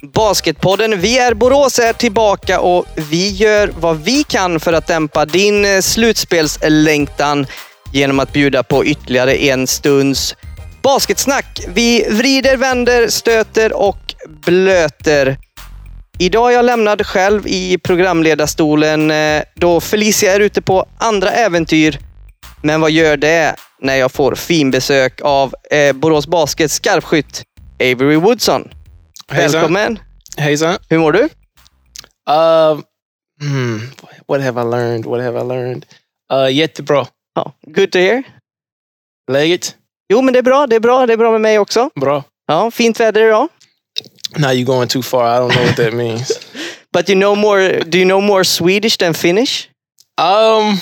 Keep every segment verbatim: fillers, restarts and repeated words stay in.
Basketpodden. Vi är Borås är tillbaka och vi gör vad vi kan för att dämpa din slutspelslängtan genom att bjuda på ytterligare en stunds basketsnack. Vi vrider, vänder, stöter och blöter. Idag är jag lämnad själv i programledarstolen då Felicia är ute på andra äventyr. Men vad gör det när jag får finbesök av eh, Borås Baskets skarpskytt Avery Woodson? Välkommen. Hejsan. Hur mår du? Uh, hmm, what have I learned? What have I learned? Uh, jättebra. Ja, good to hear. Läget? Jo, men det är bra. Det är bra. Det är bra med mig också. Bra. Ja, fint väder idag. Now you're going too far. I don't know what that means. But you know more. Do you know more Swedish than Finnish? Um.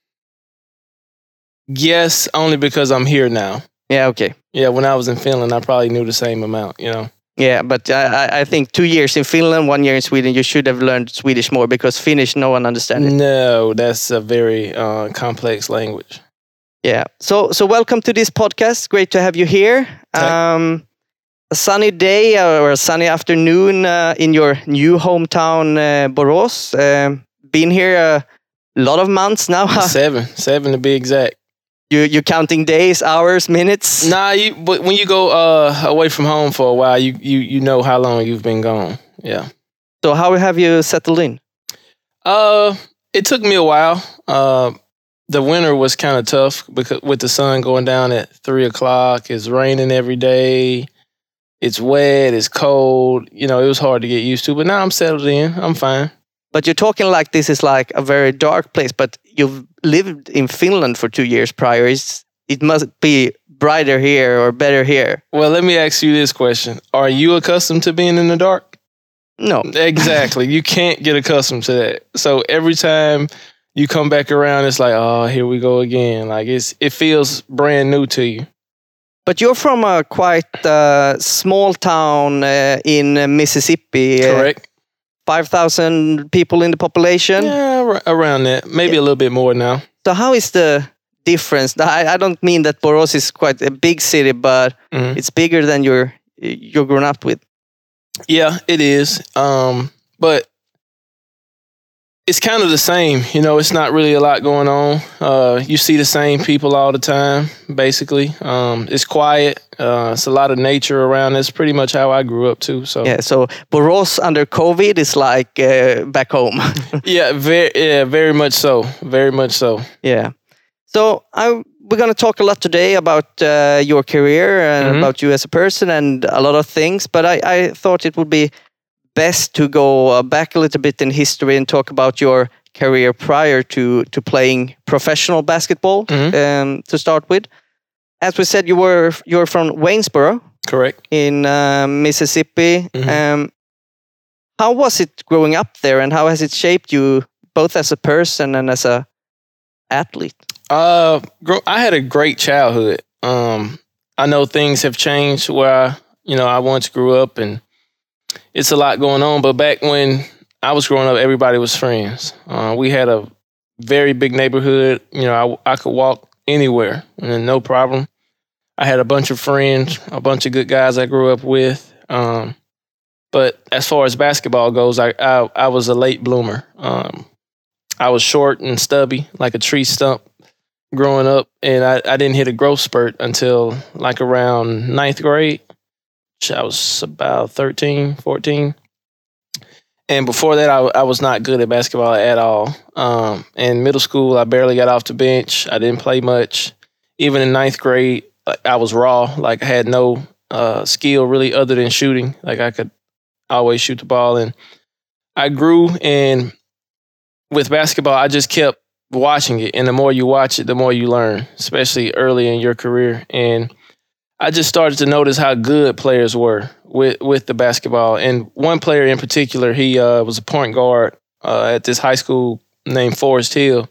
Yes, only because I'm here now. Yeah. Okay. Yeah, when I was in Finland, I probably knew the same amount. You know. Yeah, but I, I think two years in Finland, one year in Sweden, you should have learned Swedish more because Finnish, no one understands it. No, that's a very uh, complex language. Yeah. So, so welcome to this podcast. Great to have you here. Um, a sunny day or a sunny afternoon uh, in your new hometown, uh, Borås. Uh, been here a lot of months now. seven, seven to be exact. You you counting days, hours, minutes? Nah, you, but when you go uh, away from home for a while, you, you you know how long you've been gone. Yeah. So how have you settled in? Uh, it took me a while. Uh, the winter was kind of tough because with the sun going down at three o'clock, it's raining every day. It's wet. It's cold. You know, it was hard to get used to. But now I'm settled in. I'm fine. But you're talking like this is like a very dark place, but you've lived in Finland for two years prior. It's, it must be brighter here or better here. Well, let me ask you this question. Are you accustomed to being in the dark? No. Exactly. You can't get accustomed to that. So every time you come back around, it's like, oh, here we go again. Like it's it feels brand new to you. But you're from a quite uh, small town uh, in uh, Mississippi. Correct. Uh, five thousand people in the population? Yeah, ar- around that. Maybe yeah. a little bit more now. So how is the difference? I, I don't mean that Borås is quite a big city, but mm-hmm. it's bigger than you're, you're grown up with. Yeah, it is. Um, but it's kind of the same. You know, it's not really a lot going on. Uh, you see the same people all the time, basically. Um, it's quiet. Uh, it's a lot of nature around. That's pretty much how I grew up too. So yeah. So Borås under COVID is like uh, back home. yeah, very, yeah, very much so. Very much so. Yeah. So I we're gonna talk a lot today about uh, your career and mm-hmm. about you as a person and a lot of things. But I, I thought it would be best to go uh, back a little bit in history and talk about your career prior to to playing professional basketball. Mm-hmm. Um, to start with, as we said, you were you're from Waynesboro, correct, in uh, Mississippi. Mm-hmm. Um, how was it growing up there, and how has it shaped you both as a person and as a athlete? Uh, I had a great childhood. Um, I know things have changed where I, you know I once grew up and. It's a lot going on, but back when I was growing up, everybody was friends. Uh, we had a very big neighborhood. You know, I, I could walk anywhere and no problem. I had a bunch of friends, a bunch of good guys I grew up with. Um, but as far as basketball goes, I I, I was a late bloomer. Um, I was short and stubby, like a tree stump growing up, and I, I didn't hit a growth spurt until like around ninth grade. I was about thirteen, fourteen. And before that, I, I was not good at basketball at all. Um, in middle school, I barely got off the bench. I didn't play much. Even in ninth grade, I was raw. Like, I had no uh, skill really other than shooting. Like, I could always shoot the ball. And I grew, and with basketball, I just kept watching it. And the more you watch it, the more you learn, especially early in your career. And I just started to notice how good players were with, with the basketball. And one player in particular, he uh, was a point guard uh, at this high school named Forest Hill.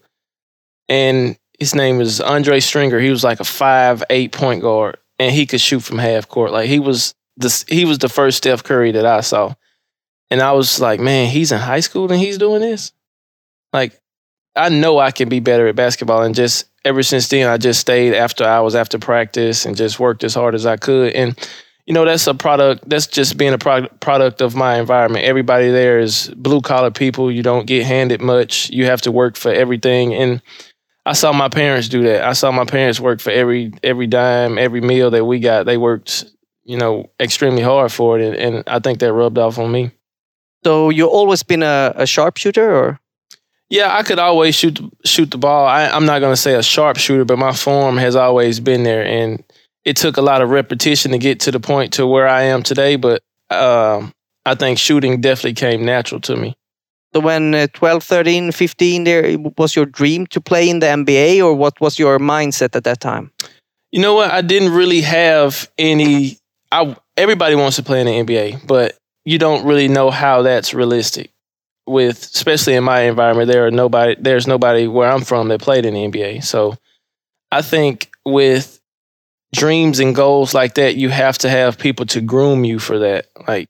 And his name is Andre Stringer. He was like a five eight point guard, and he could shoot from half court. Like he was the, he was the first Steph Curry that I saw. And I was like, man, he's in high school and he's doing this? Like, I know I can be better at basketball. And just ever since then, I just stayed after hours after practice and just worked as hard as I could. And, you know, that's a product, that's just being a pro- product of my environment. Everybody there is blue collar people. You don't get handed much. You have to work for everything. And I saw my parents do that. I saw my parents work for every every dime, every meal that we got. They worked, you know, extremely hard for it. And, and I think that rubbed off on me. So you always been a, a sharpshooter, or? Yeah, I could always shoot shoot the ball. I, I'm not going to say a sharpshooter, but my form has always been there. And it took a lot of repetition to get to the point to where I am today. But um, I think shooting definitely came natural to me. So when uh, twelve, thirteen, fifteen, there was your dream to play in the N B A, or what was your mindset at that time? You know what? I didn't really have any. I everybody wants to play in the N B A, but you don't really know how that's realistic. With especially in my environment, there are nobody. There's nobody where I'm from that played in the N B A. So I think with dreams and goals like that, you have to have people to groom you for that. Like.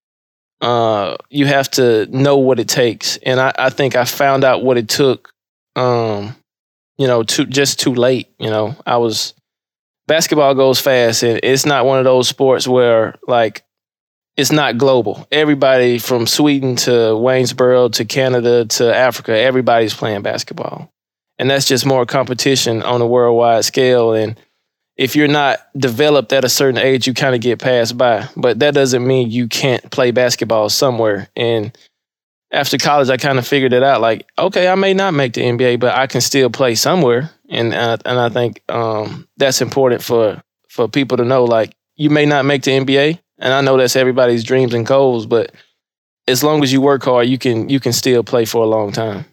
Uh, you have to know what it takes. And I, I think I found out what it took, um, you know, too, just too late. You know, I was, basketball goes fast, and it's not one of those sports where, like, it's not global. Everybody from Sweden to Waynesboro to Canada to Africa, everybody's playing basketball. And that's just more competition on a worldwide scale. And if you're not developed at a certain age, you kind of get passed by. But that doesn't mean you can't play basketball somewhere. And after college, I kind of figured it out. Like, okay, I may not make the N B A, but I can still play somewhere. And uh, and I think um, that's important for for people to know. Like, you may not make the N B A, and I know that's everybody's dreams and goals. But as long as you work hard, you can you can still play for a long time.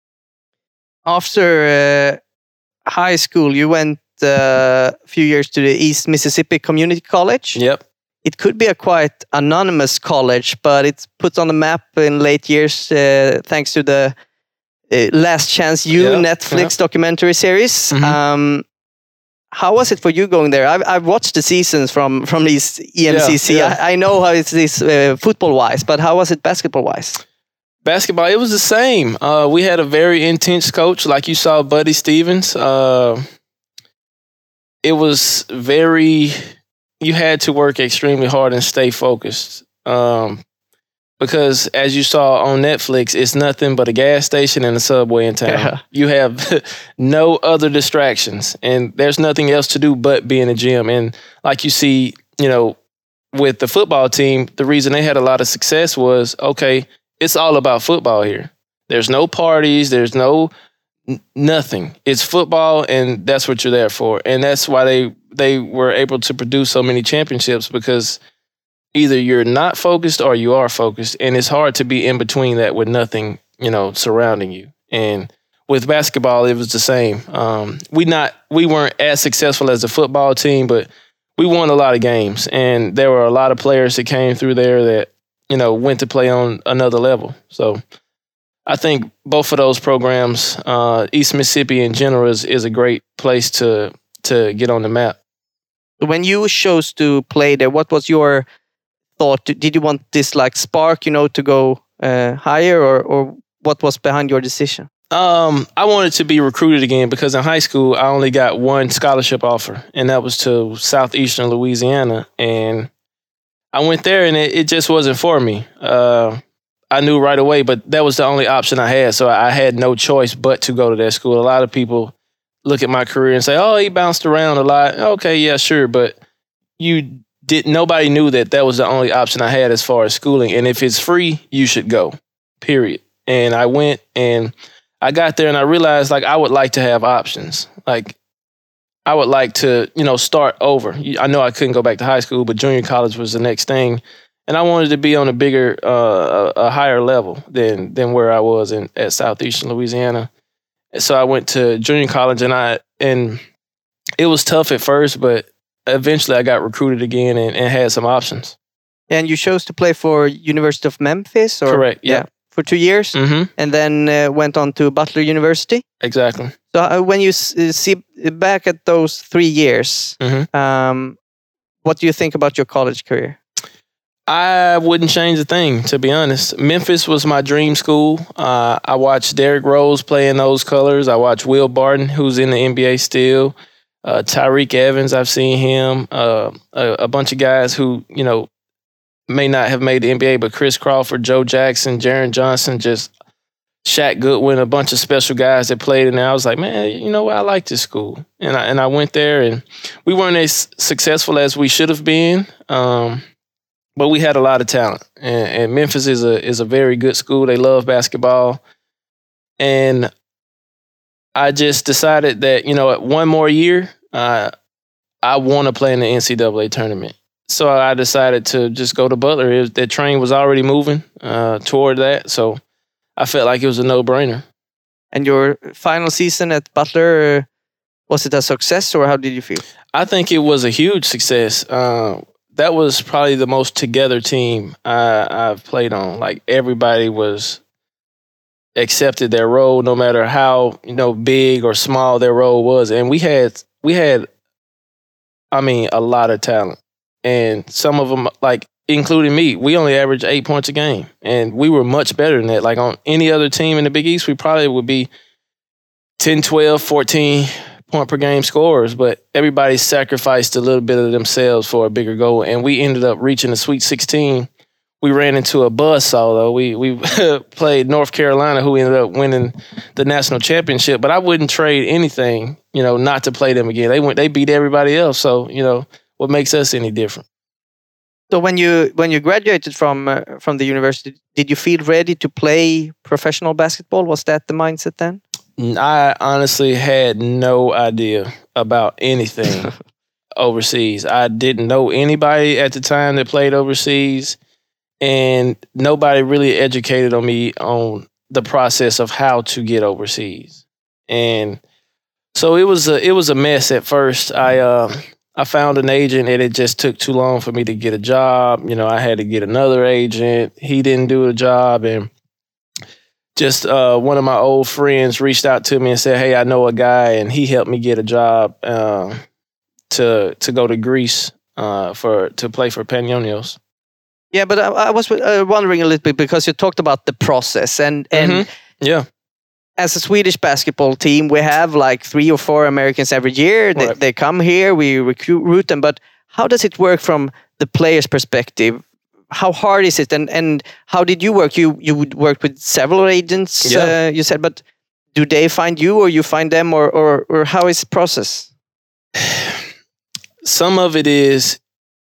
After uh, high school, you went a few years to the East Mississippi Community College. Yep. It could be a quite anonymous college, but it's put on the map in late years uh, thanks to the uh, Last Chance U yep. Netflix yep. documentary series. Mm-hmm. Um, how was it for you going there? I've, I've watched the seasons from, from these E M C C. Yeah, yeah. I, I know how it is uh, football-wise, but how was it basketball-wise? Basketball, it was the same. Uh, we had a very intense coach, like you saw Buddy Stevens. Uh, It was very, you had to work extremely hard and stay focused. Um, because as you saw on Netflix, it's nothing but a gas station and a Subway in town. Yeah. You have no other distractions, and there's nothing else to do but be in the gym. And like you see, you know, with the football team, the reason they had a lot of success was, okay, it's all about football here. There's no parties, there's no nothing. It's football, and that's what you're there for. And that's why they they were able to produce so many championships, because either you're not focused or you are focused. And it's hard to be in between that with nothing, you know, surrounding you. And with basketball, it was the same. Um, we not we weren't as successful as the football team, but we won a lot of games. And there were a lot of players that came through there that, you know, went to play on another level. So I think both of those programs, uh, East Mississippi in general, is, is a great place to to get on the map. When you chose to play there, what was your thought? Did you want this like spark, you know, to go uh, higher, or or what was behind your decision? Um, I wanted to be recruited again, because in high school I only got one scholarship offer, and that was to Southeastern Louisiana, and I went there, and it, it just wasn't for me. Uh, I knew right away, but that was the only option I had, so I had no choice but to go to that school. A lot of people look at my career and say, "Oh, he bounced around a lot." Okay, yeah, sure, but you did. Nobody knew that that was the only option I had as far as schooling, and if it's free, you should go. Period. And I went, and I got there, and I realized, like, I would like to have options. Like, I would like to, you know, start over. I know I couldn't go back to high school, but junior college was the next thing. And I wanted to be on a bigger, uh, a, a higher level than than where I was in at Southeastern Louisiana. And so I went to junior college, and I and it was tough at first, but eventually I got recruited again and, and had some options. And you chose to play for University of Memphis, or correct? Yeah, yeah, for two years, mm-hmm. and then uh, went on to Butler University. Exactly. So uh, when you s- see back at those three years, mm-hmm. um, what do you think about your college career? I wouldn't change a thing, to be honest. Memphis was my dream school. Uh, I watched Derrick Rose play in those colors. I watched Will Barton, who's in the N B A still. Uh, Tyreek Evans, I've seen him. Uh, a, a bunch of guys who, you know, may not have made the N B A, but Chris Crawford, Joe Jackson, Jaren Johnson, just Shaq Goodwin, a bunch of special guys that played in there. I was like, man, you know what? I like this school. And I, and I went there, and we weren't as successful as we should have been, um, but we had a lot of talent. And, and Memphis is a is a very good school. They love basketball. And I just decided that, you know, one more year, uh, I want to play in the N C double A tournament. So I decided to just go to Butler. It was, that train was already moving uh, toward that, so I felt like it was a no-brainer. And your final season at Butler, uh, was it a success, or how did you feel? I think it was a huge success. Uh, that was probably the most together team I, I've played on. Like, everybody was accepted their role, no matter how, you know, big or small their role was. And we had we had, I mean, a lot of talent. And some of them, like, including me, we only averaged eight points a game. And we were much better than that. Like, on any other team in the Big East, we probably would be ten, twelve, fourteen point per game scorers. But everybody sacrificed a little bit of themselves for a bigger goal. And we ended up reaching the Sweet sixteen. We ran into a buzzsaw, though. We we played North Carolina, who ended up winning the national championship. But I wouldn't trade anything, you know, not to play them again. They went, they beat everybody else. So, you know, what makes us any different? So when you when you graduated from uh, from the university, did you feel ready to play professional basketball? Was that the mindset then? I honestly had no idea about anything overseas. I didn't know anybody at the time that played overseas, and nobody really educated on me on the process of how to get overseas. And so it was a it was a mess at first. I uh, I found an agent, and it just took too long for me to get a job. You know, I had to get another agent. He didn't do the job, and just uh, one of my old friends reached out to me and said, "Hey, I know a guy," and he helped me get a job uh, to to go to Greece uh, for to play for Panionios. Yeah, but I, I was uh, wondering a little bit, because you talked about the process, and and mm-hmm. yeah. As a Swedish basketball team, we have like three or four Americans every year. They, right. they come here, we recruit them. But how does it work from the player's perspective? How hard is it? And and how did you work? You you would work with several agents, yeah. uh, you said. But do they find you, or you find them, or or, or how is the process? Some of it is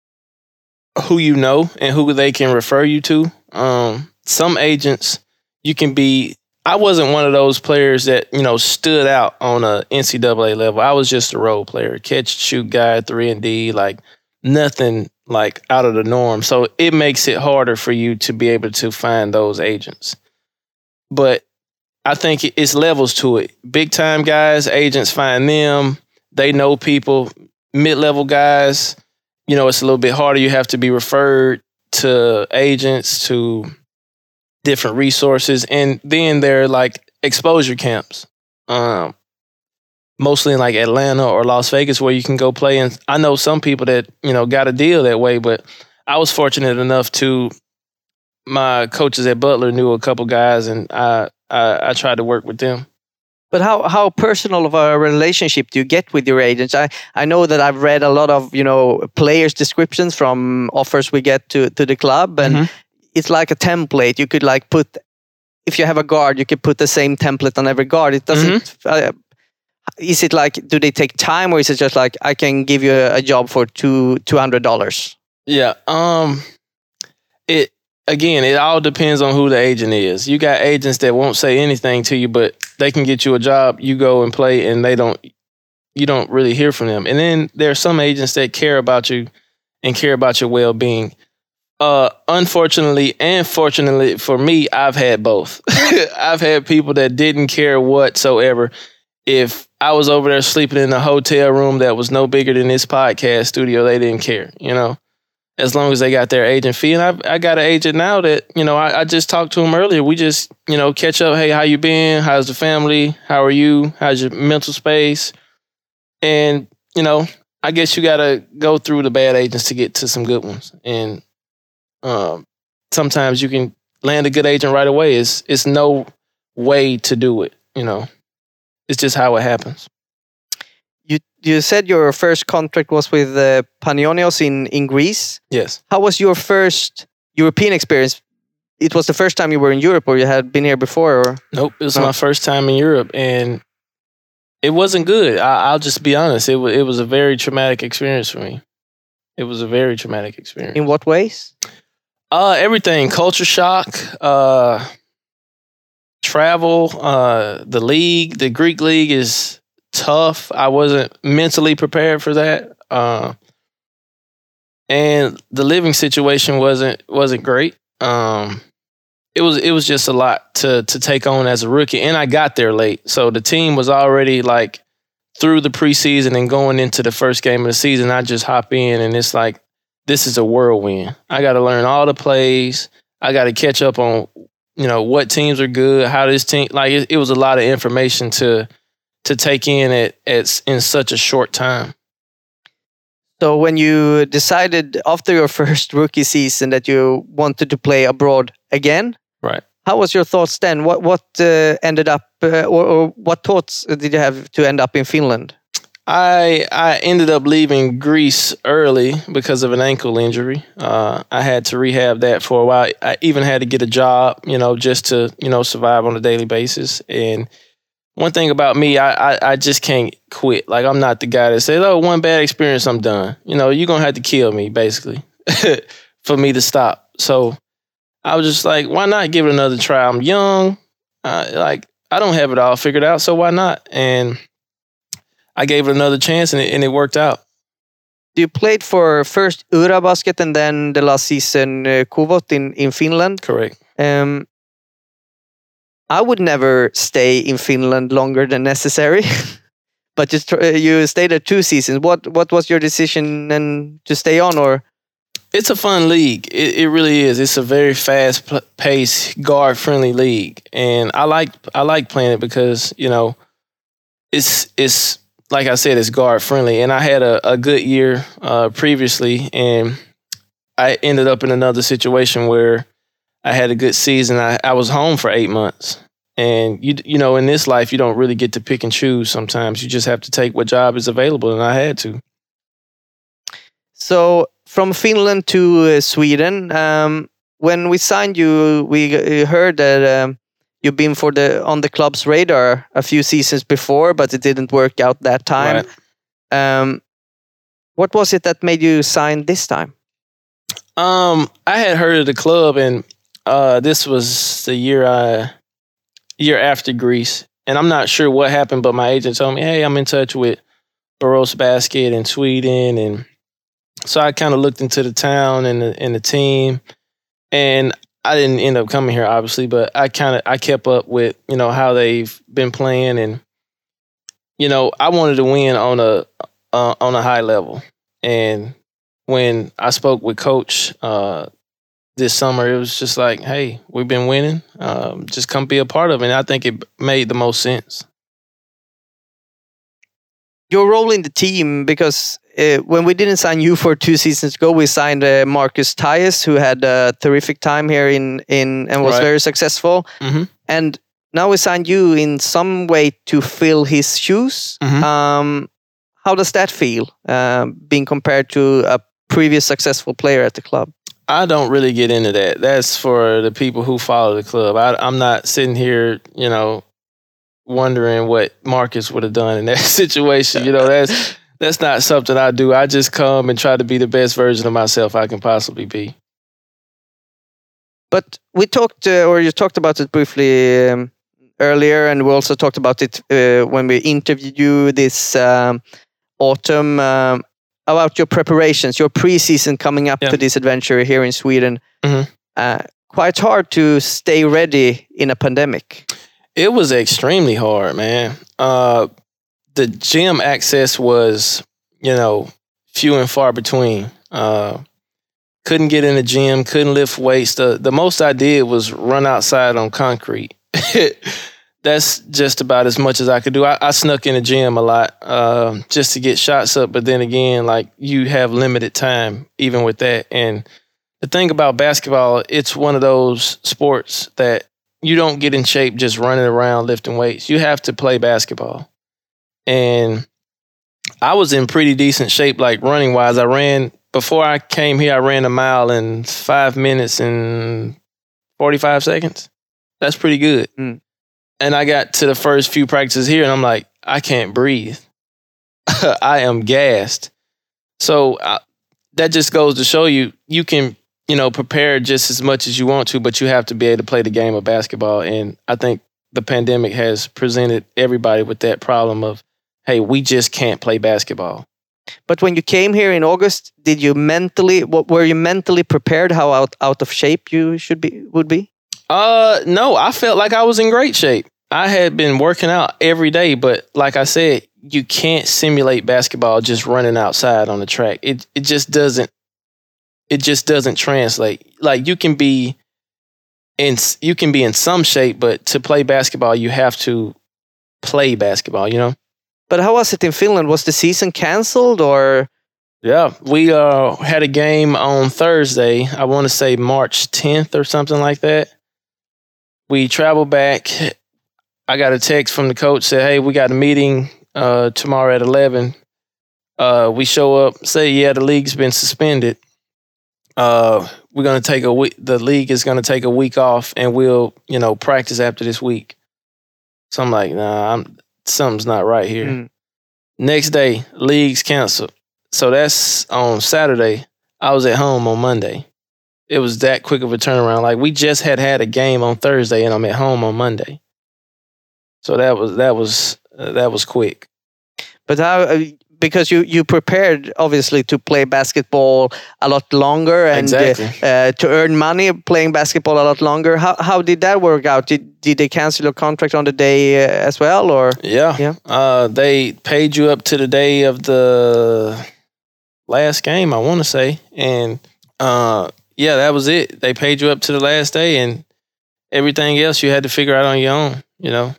who you know and who they can refer you to. Um, some agents, you can be... I wasn't one of those players that, you know, stood out on a N C double A level. I was just a role player, catch, shoot guy, three and D, like nothing like out of the norm. So it makes it harder for you to be able to find those agents. But I think it's levels to it. Big time guys, agents find them. They know people. Mid-level guys, you know, it's a little bit harder. You have to be referred to agents, to different resources. And then there are like exposure camps, um, mostly in like Atlanta or Las Vegas, where you can go play. And I know some people that, you know, got a deal that way, but I was fortunate enough to, my coaches at Butler knew a couple guys, and I, I, I tried to work with them. But how, how personal of a relationship do you get with your agents? I, I know that I've read a lot of, you know, players' descriptions from offers we get to, to the club, and mm-hmm. it's like a template. You could like put, if you have a guard, you could put the same template on every guard. It doesn't, mm-hmm. uh, is it like, do they take time, or is it just like, I can give you a, a job for two, two hundred dollars? Yeah. Um, it, again, it all depends on who the agent is. You got agents that won't say anything to you, but they can get you a job. You go and play, and they don't, you don't really hear from them. And then there are some agents that care about you and care about your well-being. Uh, unfortunately and fortunately for me, I've had both. I've had people that didn't care whatsoever. If I was over there sleeping in a hotel room that was no bigger than this podcast studio, they didn't care, you know, as long as they got their agent fee. And I I got an agent now that, you know, I, I just talked to him earlier. We just, you know, catch up. Hey, how you been? How's the family? How are you? How's your mental space? And, you know, I guess you got to go through the bad agents to get to some good ones. And um, sometimes you can land a good agent right away. It's, it's no way to do it, you know. It's just how it happens. You you said your first contract was with uh, Panionios in, in Greece. Yes. How was your first European experience? It was the first time you were in Europe, or you had been here before? Or? Nope, it was no. my first time in Europe, and it wasn't good. I, I'll just be honest. It was it was a very traumatic experience for me. It was a very traumatic experience. In what ways? Uh, everything. Culture shock, uh, travel, uh, the league. The Greek league is tough. I wasn't mentally prepared for that. Uh, and the living situation wasn't wasn't great. Um, it was it was just a lot to to take on as a rookie, and I got there late, so the team was already like through the preseason and going into the first game of the season. I just hop in, and it's like, this is a whirlwind. I got to learn all the plays. I got to catch up on, you know, what teams are good, how this team, like it, it was a lot of information to to take in at, at in such a short time. So when you decided after your first rookie season that you wanted to play abroad again, right? How was your thoughts then? What what uh, ended up, uh, or, or what thoughts did you have to end up in Finland? I I ended up leaving Greece early because of an ankle injury. Uh, I had to rehab that for a while. I even had to get a job, you know, just to, you know, survive on a daily basis. And one thing about me, I, I, I just can't quit. Like, I'm not the guy that says, oh, one bad experience, I'm done. You know, you're going to have to kill me, basically, for me to stop. So I was just like, why not give it another try? I'm young. Uh, like, I don't have it all figured out, so why not? And I gave it another chance, and it, and it worked out. You played for first Ura Basket and then the last season uh, Kuvot in, in Finland. Correct. Um, I would never stay in Finland longer than necessary, but just uh, you stayed there two seasons. What what was your decision then to stay on? Or it's a fun league. It, it really is. It's a very fast-paced, guard-friendly league, and I like I like playing it because, you know, it's it's like I said, it's guard-friendly, and I had a, a good year uh, previously, and I ended up in another situation where I had a good season. I, I was home for eight months. And, you you know, in this life, you don't really get to pick and choose sometimes. You just have to take what job is available, and I had to. So from Finland to uh, Sweden, um, when we signed you, we uh, heard that um, you've been for the on the club's radar a few seasons before, but it didn't work out that time. Right. Um, what was it that made you sign this time? Um, I had heard of the club, and uh, this was the year I, year after Greece, and I'm not sure what happened, but my agent told me, "Hey, I'm in touch with Borås Basket in Sweden," and so I kind of looked into the town and the, and the team, and I didn't end up coming here, obviously, but I kind of I kept up with, you know, how they've been playing, and, you know, I wanted to win on a uh, on a high level, and when I spoke with Coach uh, this summer, it was just like, hey, we've been winning. Um, just come be a part of it. And I think it made the most sense. Your role in the team, because uh, when we didn't sign you for two seasons ago, we signed uh, Marcus Tyus, who had a terrific time here in, in and was Right. very successful. Mm-hmm. And now we signed you in some way to fill his shoes. Mhm. Um, how does that feel, uh, being compared to a previous successful player at the club? I don't really get into that. That's for the people who follow the club. I, I'm not sitting here, you know, wondering what Marcus would have done in that situation. You know, that's that's not something I do. I just come and try to be the best version of myself I can possibly be. But we talked, uh, or you talked about it briefly um, earlier, and we also talked about it uh, when we interviewed you this um, autumn, um, about your preparations, your pre-season coming up Yeah. to this adventure here in Sweden. Mhm. Uh, quite hard to stay ready in a pandemic. It was extremely hard, man. Uh, the gym access was, you know, few and far between. Uh, couldn't get in the gym, couldn't lift weights. The the most I did was run outside on concrete. That's just about as much as I could do. I, I snuck in the gym a lot uh, just to get shots up. But then again, like, you have limited time even with that. And the thing about basketball, it's one of those sports that you don't get in shape just running around lifting weights. You have to play basketball. And I was in pretty decent shape, like running wise. I ran before I came here. I ran a mile in five minutes and forty-five seconds. That's pretty good. Mm. And I got to the first few practices here, and I'm like, I can't breathe. I am gassed. So I, that just goes to show you, you can, you know, prepare just as much as you want to, but you have to be able to play the game of basketball. And I think the pandemic has presented everybody with that problem of, hey, we just can't play basketball. But when you came here in August, did you mentally, what, were you mentally prepared how out, out of shape you should be, would be? Uh, no, I felt like I was in great shape. I had been working out every day, but like I said, you can't simulate basketball just running outside on the track. It it just doesn't, it just doesn't translate. Like you can be in, you can be in some shape, but to play basketball, you have to play basketball, you know? But how was it in Finland? Was the season canceled or? Yeah, we uh, had a game on Thursday. I want to say March tenth or something like that. We traveled back. I got a text from the coach, said, hey, we got a meeting uh, tomorrow at eleven. Uh, we show up, say, yeah, the league's been suspended. Uh, we're going to take a week. The league is going to take a week off, and we'll, you know, practice after this week. So I'm like, nah, I'm, something's not right here. Mm. Next day, league's canceled. So that's on Saturday. I was at home on Monday. It was that quick of a turnaround. Like we just had had a game on Thursday, and I'm at home on Monday. So that was that was uh, that was quick. But how? Uh, because you you prepared obviously to play basketball a lot longer and exactly. uh, uh, to earn money playing basketball a lot longer. How how did that work out? Did did they cancel your contract on the day uh, as well, or? Yeah, yeah. Uh, they paid you up to the day of the last game, I want to say, and uh, yeah, that was it. They paid you up to the last day, and everything else you had to figure out on your own. You know.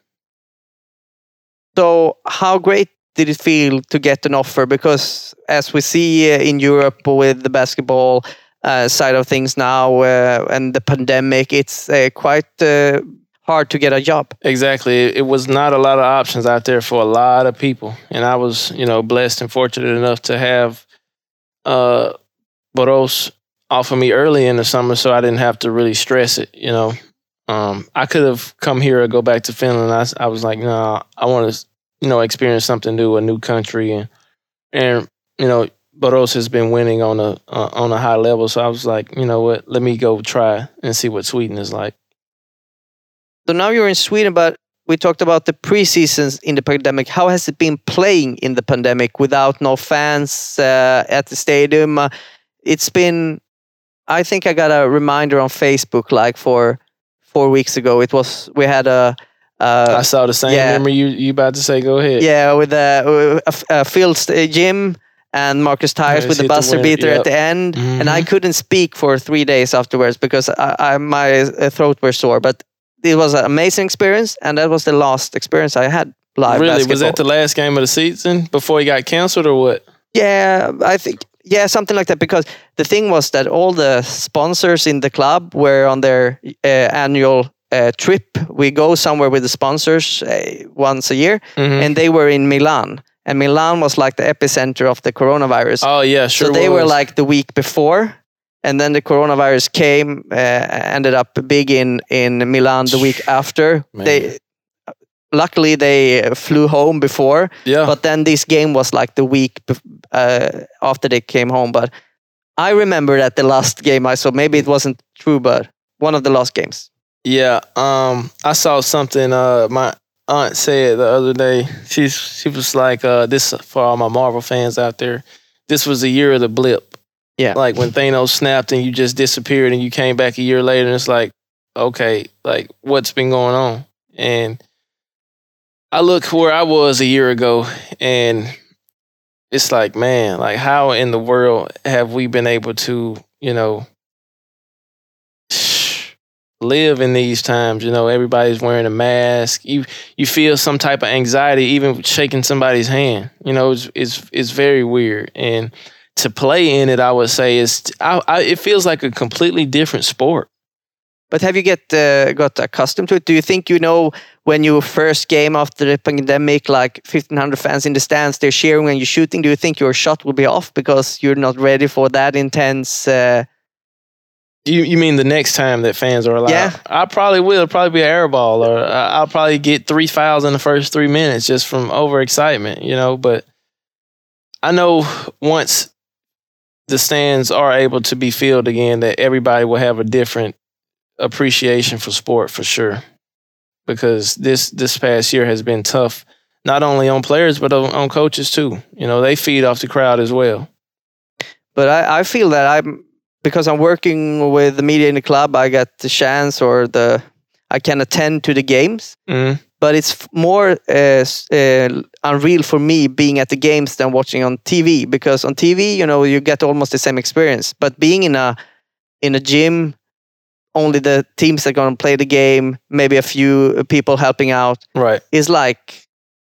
So how great did it feel to get an offer? Because as we see uh, in Europe with the basketball uh, side of things now uh, and the pandemic, it's uh, quite uh, hard to get a job. Exactly. It was not a lot of options out there for a lot of people. And I was, you know, blessed and fortunate enough to have uh, Borås offer me early in the summer so I didn't have to really stress it, you know. Um, I could have come here or go back to Finland. I, I was like, no, nah, I want to, you know, experience something new, a new country, and and you know, Borås has been winning on a uh, on a high level. So I was like, you know what, let me go try and see what Sweden is like. So now you're in Sweden, but we talked about the preseasons in the pandemic. How has it been playing in the pandemic without no fans uh, at the stadium? Uh, it's been, I think I got a reminder on Facebook like for. Four weeks ago, it was we had a. Uh, I saw the same. Yeah, Remember you? You about to say? Go ahead. Yeah, with a, a, a Phil's Jim and Marcus Tyres with the buzzer the beater yep. at the end, mm-hmm. and I couldn't speak for three days afterwards because I, I my throat was sore. But it was an amazing experience, and that was the last experience I had live. Really, basketball. Was that the last game of the season before he got canceled, or what? Yeah, I think. Yeah, something like that. Because the thing was that all the sponsors in the club were on their uh, annual uh, trip. We go somewhere with the sponsors uh, once a year, mm-hmm. and they were in Milan. And Milan was like the epicenter of the coronavirus. Oh, yeah, sure So they was. were like the week before, and then the coronavirus came, uh, ended up big in, in Milan the week after. Man. They Luckily, they flew home before, yeah. but then this game was like the week uh, after they came home. But I remember that the last game I saw, maybe it wasn't true, but one of the last games. Yeah, um, I saw something uh, my aunt said the other day. She's, she was like, uh, this for all my Marvel fans out there, this was the year of the blip. Yeah. Like when Thanos snapped and you just disappeared and you came back a year later and it's like, okay, like what's been going on? And I look where I was a year ago, and it's like, man, like how in the world have we been able to, you know, live in these times? You know, everybody's wearing a mask. You you feel some type of anxiety even shaking somebody's hand. You know, it's it's, it's very weird. And to play in it, I would say is I, I, it feels like a completely different sport. But have you get uh, got accustomed to it? Do you think, you know, when you first game after the pandemic, like fifteen hundred fans in the stands, they're cheering when you're shooting, do you think your shot will be off because you're not ready for that intense... Uh... You you mean the next time that fans are allowed? Yeah. I probably will. It'll probably be an air ball, or I'll probably get three fouls in the first three minutes just from overexcitement, you know. But I know once the stands are able to be filled again, that everybody will have a different appreciation for sport for sure. Because this this past year has been tough, not only on players, but on, on coaches too. You know, they feed off the crowd as well. But I, I feel that I'm, because I'm working with the media in the club, I get the chance or the I can attend to the games. Mm-hmm. But it's more uh, uh, unreal for me being at the games than watching on T V, because on T V, you know, you get almost the same experience. But being in a in a gym, only the teams that are going to play the game, maybe a few people helping out, right, is like.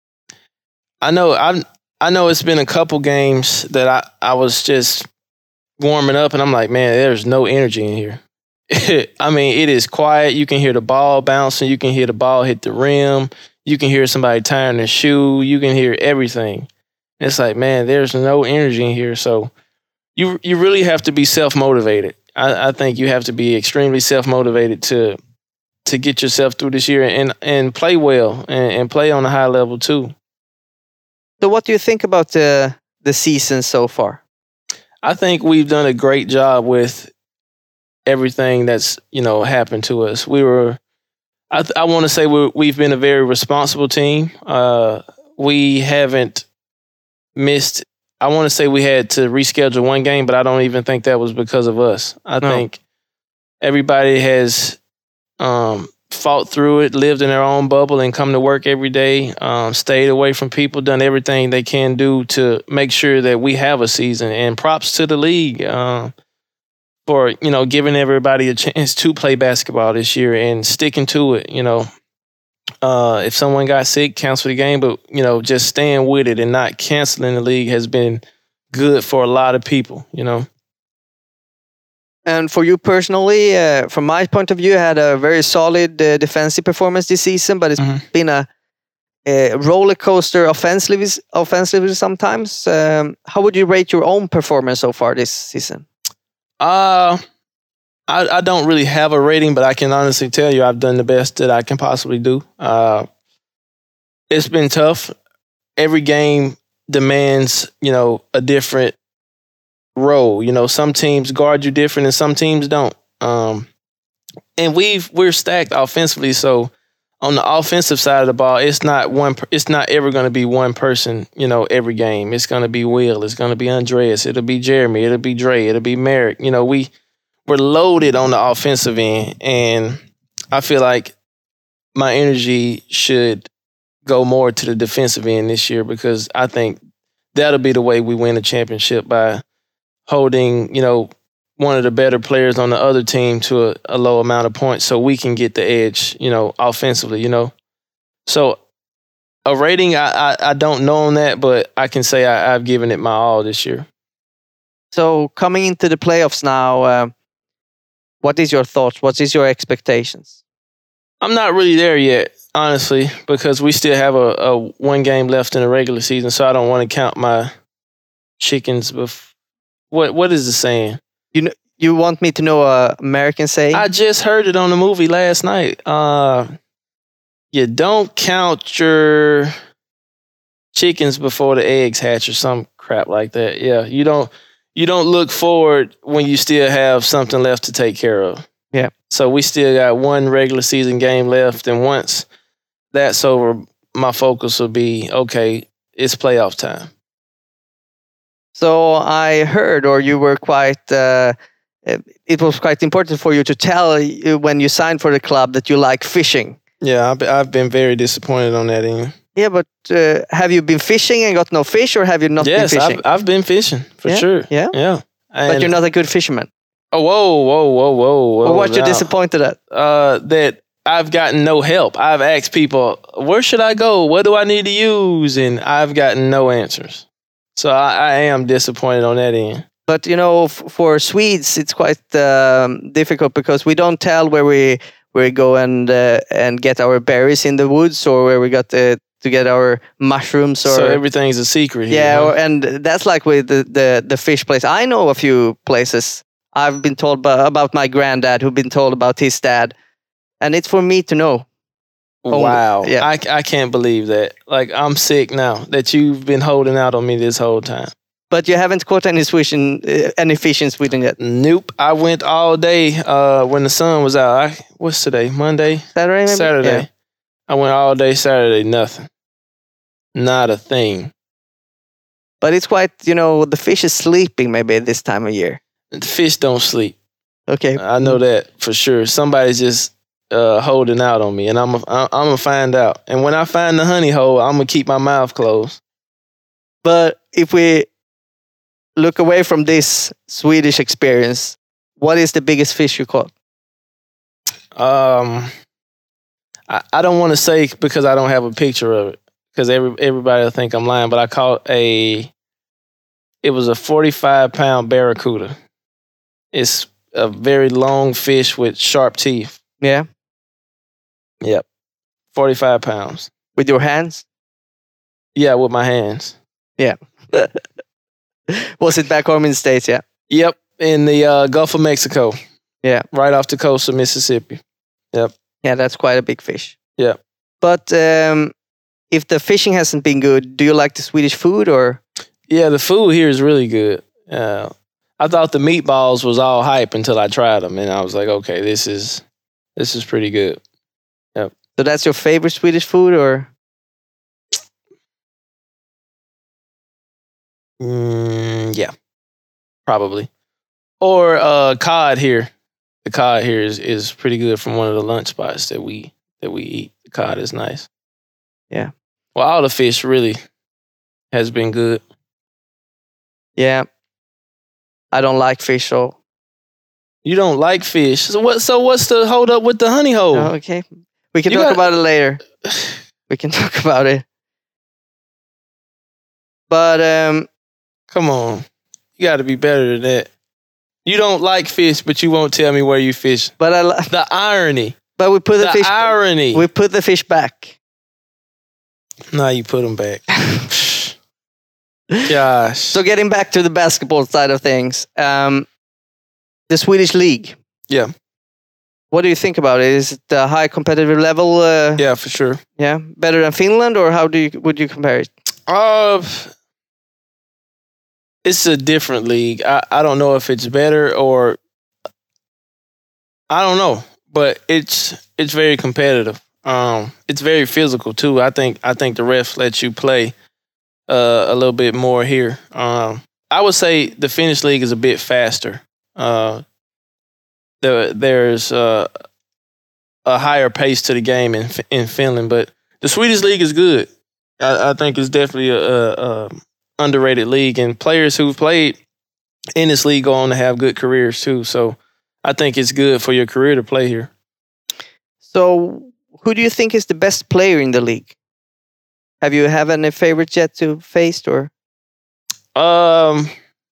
I know. I I know it's been a couple games that I I was just warming up, and I'm like, man, there's no energy in here. I mean, it is quiet. You can hear the ball bouncing. You can hear the ball hit the rim. You can hear somebody tying their shoe. You can hear everything. It's like, man, there's no energy in here. So you you really have to be self-motivated. I, I think you have to be extremely self-motivated to to get yourself through this year and, and play well and, and play on a high level too. So what do you think about the the season so far? I think we've done a great job with everything that's, you know, happened to us. We were, I, th- I want to say we're, we've been a very responsible team. Uh, we haven't missed, I want to say we had to reschedule one game, but I don't even think that was because of us. I no. think everybody has um, fought through it, lived in their own bubble and come to work every day, um, stayed away from people, done everything they can do to make sure that we have a season. And props to the league. Uh, for, you know, giving everybody a chance to play basketball this year and sticking to it, you know. Uh, if someone got sick, cancel the game, but, you know, just staying with it and not canceling the league has been good for a lot of people, you know. And for you personally, uh, from my point of view, you had a very solid uh, defensive performance this season, but it's mm-hmm. been a, a roller coaster offensively, offensively sometimes. Um, how would you rate your own performance so far this season? Uh, I, I don't really have a rating, but I can honestly tell you I've done the best that I can possibly do. Uh, it's been tough. Every game demands, you know, a different role. You know, some teams guard you different and some teams don't. Um, and we've we're stacked offensively, so on the offensive side of the ball, it's not one. It's not ever going to be one person, you know, every game. It's going to be Will. It's going to be Andreas. It'll be Jeremy. It'll be Dre. It'll be Merrick. You know, we we're loaded on the offensive end, and I feel like my energy should go more to the defensive end this year because I think that'll be the way we win a championship, by holding, you know, one of the better players on the other team to a, a low amount of points so we can get the edge, you know, offensively, you know. So a rating, I, I, I don't know on that, but I can say I, I've given it my all this year. So coming into the playoffs now, uh, what is your thoughts? What is your expectations? I'm not really there yet, honestly, because we still have a, a one game left in the regular season, so I don't want to count my chickens. Bef- what What is the saying? You know, you want me to know a American saying? I just heard it on the movie last night. Uh, you don't count your chickens before the eggs hatch, or some crap like that. Yeah, you don't. You don't look forward when you still have something left to take care of. Yeah. So we still got one regular season game left, and once that's over, my focus will be, okay, it's playoff time. So I heard, or you were quite, uh, it was quite important for you to tell you when you signed for the club that you like fishing. Yeah, I've, I've been very disappointed on that end. Yeah, but uh, have you been fishing and got no fish, or have you not yes, been fishing? Yes, I've, I've been fishing, for yeah? sure. Yeah? Yeah. And but you're not a good fisherman. Oh, whoa, whoa, whoa, whoa, whoa. Or what now, you're disappointed at? Uh, that I've gotten no help. I've asked people, where should I go? What do I need to use? And I've gotten no answers. So I, I am disappointed on that end. But you know, f- for Swedes, it's quite um, difficult because we don't tell where we where we go and uh, and get our berries in the woods, or where we got the, to get our mushrooms. Or So everything's a secret here. yeah, huh? or, and that's like with the, the the fish place. I know a few places. I've been told by, about my granddad, who've been told about his dad, and it's for me to know. only- Wow. yeah. I, I can't believe that. Like, I'm sick now that you've been holding out on me this whole time. But you haven't caught any fish in uh, any fish in Sweden yet. Nope. I went all day uh, when the sun was out. I, what's today? Monday? Saturday, maybe? Saturday. Yeah. I went all day Saturday. Nothing. Not a thing. But it's quite, you know, the fish is sleeping maybe this time of year. The fish don't sleep. Okay. I know that for sure. Somebody's just uh, holding out on me, and I'm I'm gonna find out. And when I find the honey hole, I'm gonna keep my mouth closed. But if we look away from this Swedish experience, what is the biggest fish you caught? Um, I, I don't want to say because I don't have a picture of it, because every everybody will think I'm lying. But I caught a. It was a forty-five pound barracuda. It's a very long fish with sharp teeth. Yeah. Yep, forty-five pounds. With your hands? Yeah, with my hands. Yeah. Was it back home in the States? Yeah. Yep, in the uh, Gulf of Mexico. Yeah. Right off the coast of Mississippi. Yep. Yeah, that's quite a big fish. Yeah. But um, if the fishing hasn't been good, do you like the Swedish food or? Yeah, the food here is really good. Uh, I thought the meatballs was all hype until I tried them, and I was like, okay, this is this is pretty good. Yep. So that's your favorite Swedish food, or? Mm, yeah, probably. Or uh, cod here. The cod here is, is pretty good from one of the lunch spots that we that we eat. The cod is nice. Yeah. Well, all the fish really has been good. Yeah. I don't like fish, so. You don't like fish, so what? So what's the hold up with the honey hole? Oh, okay. We can You talk got- about it later. We can talk about it. But um, Come on, you got to be better than that. You don't like fish, but you won't tell me where you fish. but I li- The irony. but we put the, The fish. irony. We put the fish back. Now you put them back. Gosh. So getting back to the basketball side of things, um, the Swedish league. Yeah. What do you think about it? Is it a high competitive level? Uh, Yeah, for sure. yeah, better than Finland, or how do you would you compare it? Uh, it's a different league. I, I don't know if it's better or I don't know, but it's it's very competitive. Um, it's very physical too. I think I think the refs let you play uh, a little bit more here. Um, I would say the Finnish league is a bit faster. Uh, the, there's uh, a higher pace to the game in in Finland, but the Swedish league is good. I, I think it's definitely a, a, a underrated league, and players who've played in this league go on to have good careers too. So I think it's good for your career to play here. So, who do you think is the best player in the league? Have you have any favorites yet to face, or? Um,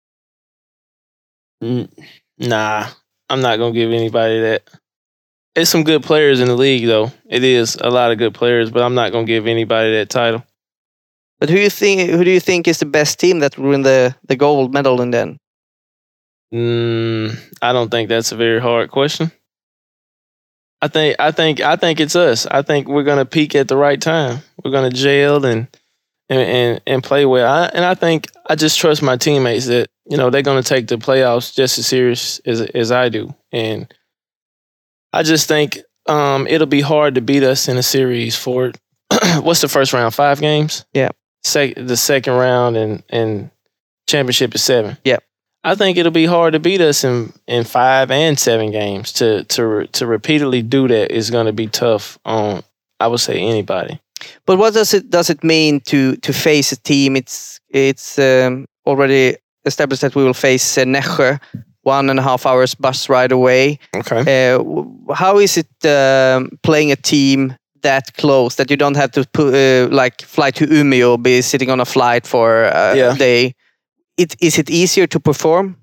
n- nah, I'm not gonna give anybody that. It's some good players in the league, though. It is a lot of good players, but I'm not gonna give anybody that title. But who you think? Who do you think is the best team that will win the the gold medal in then? Mm, I don't think that's a very hard question. I think I think I think it's us. I think we're gonna peak at the right time. We're gonna gel and and and, and play well. I, and I think I just trust my teammates that you know they're gonna take the playoffs just as serious as as I do. And I just think um, it'll be hard to beat us in a series for what's the first round? Five games. Yeah. Sec- the second round and and championship is seven. Yeah. I think it'll be hard to beat us in, in five and seven games. To to to repeatedly do that is going to be tough on, I would say, anybody. But what does it does it mean to to face a team? It's it's um, already established that we will face uh, Nässjö, one and a half hours bus ride away. Okay. Uh, w- how is it um, playing a team that close that you don't have to put, uh, like fly to Umeå, be sitting on a flight for uh, Yeah. a day? It is it easier to perform?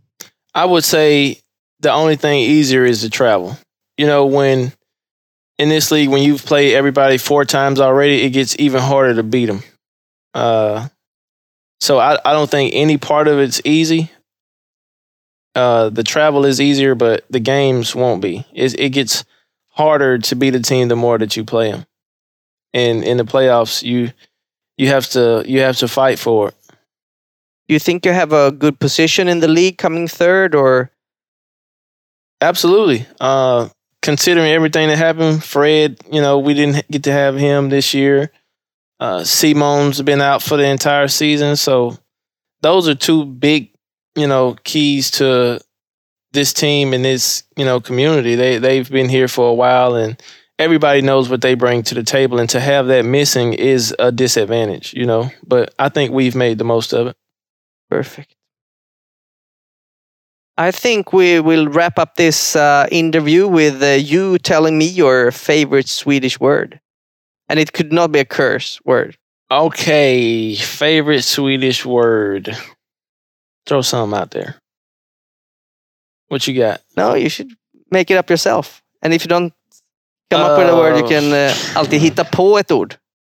I would say the only thing easier is the travel. You know, when in this league, when you've played everybody four times already, it gets even harder to beat them. Uh, so I, I don't think any part of it's easy. Uh, the travel is easier, but the games won't be. It, it gets harder to beat a team the more that you play them. And in the playoffs, you you have to you have to fight for it. Do you think you have a good position in the league coming third, or? Absolutely. Uh, considering everything that happened, Fred, you know, we didn't get to have him this year. Uh, Simon's been out for the entire season. So those are two big, you know, keys to this team and this, you know, community. They, they've been here for a while and everybody knows what they bring to the table. And to have that missing is a disadvantage, you know, but I think we've made the most of it. Perfect. I think we will wrap up this uh, interview with uh, you telling me your favorite Swedish word. And it could not be a curse word. Okay, favorite Swedish word. Throw something out there. What you got? No, you should make it up yourself. And if you don't come uh, up with a word, you can uh, alltid hitta på ett ord.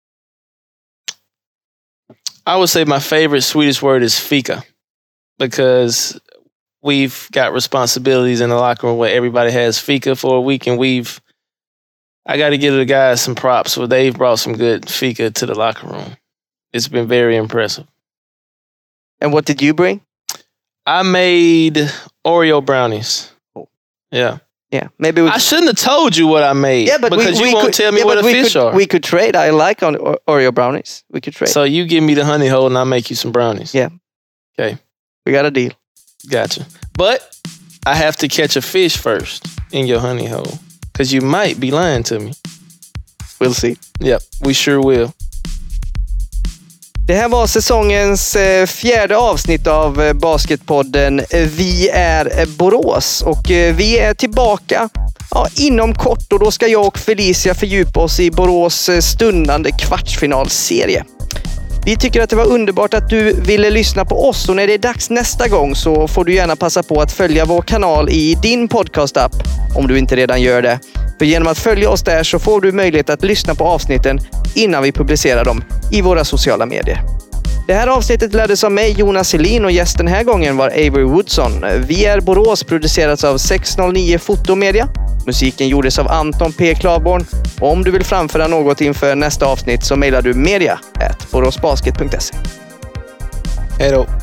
I would say my favorite Swedish word is fika. Because we've got responsibilities in the locker room where everybody has fika for a week, and we've, I got to give the guys some props for they've brought some good fika to the locker room. It's been very impressive. And what did you bring? I made Oreo brownies. Oh. Yeah. Yeah. Maybe we I shouldn't have told you what I made. Yeah, but because we, you we won't could, tell me yeah, what the we fish could, are. We could trade. I like on Oreo brownies. We could trade. So you give me the honey hole and I'll make you some brownies. Yeah. Okay. We got a deal. Gotcha. But I have to catch a fish first in your honey hole. Because you might be lying to me. We'll see. Yep, we sure will. Det här var säsongens eh, fjärde avsnitt av eh, Basketpodden. Vi är eh, Borås och eh, vi är tillbaka ja, inom kort, och då ska jag och Felicia fördjupa oss i Borås eh, stundande kvartsfinalserie. Vi tycker att det var underbart att du ville lyssna på oss, och när det är dags nästa gång så får du gärna passa på att följa vår kanal i din podcast-app om du inte redan gör det. För genom att följa oss där så får du möjlighet att lyssna på avsnitten innan vi publicerar dem i våra sociala medier. Det här avsnittet leddes av mig, Jonas Helin, och gästen den här gången var Avery Woodson. Vi är Borås, producerats av sex noll nio Fotomedia. Musiken gjordes av Anton P. Klavborn. Och om du vill framföra något inför nästa avsnitt så mejlar du media at boråsbasket punkt se. Hej då!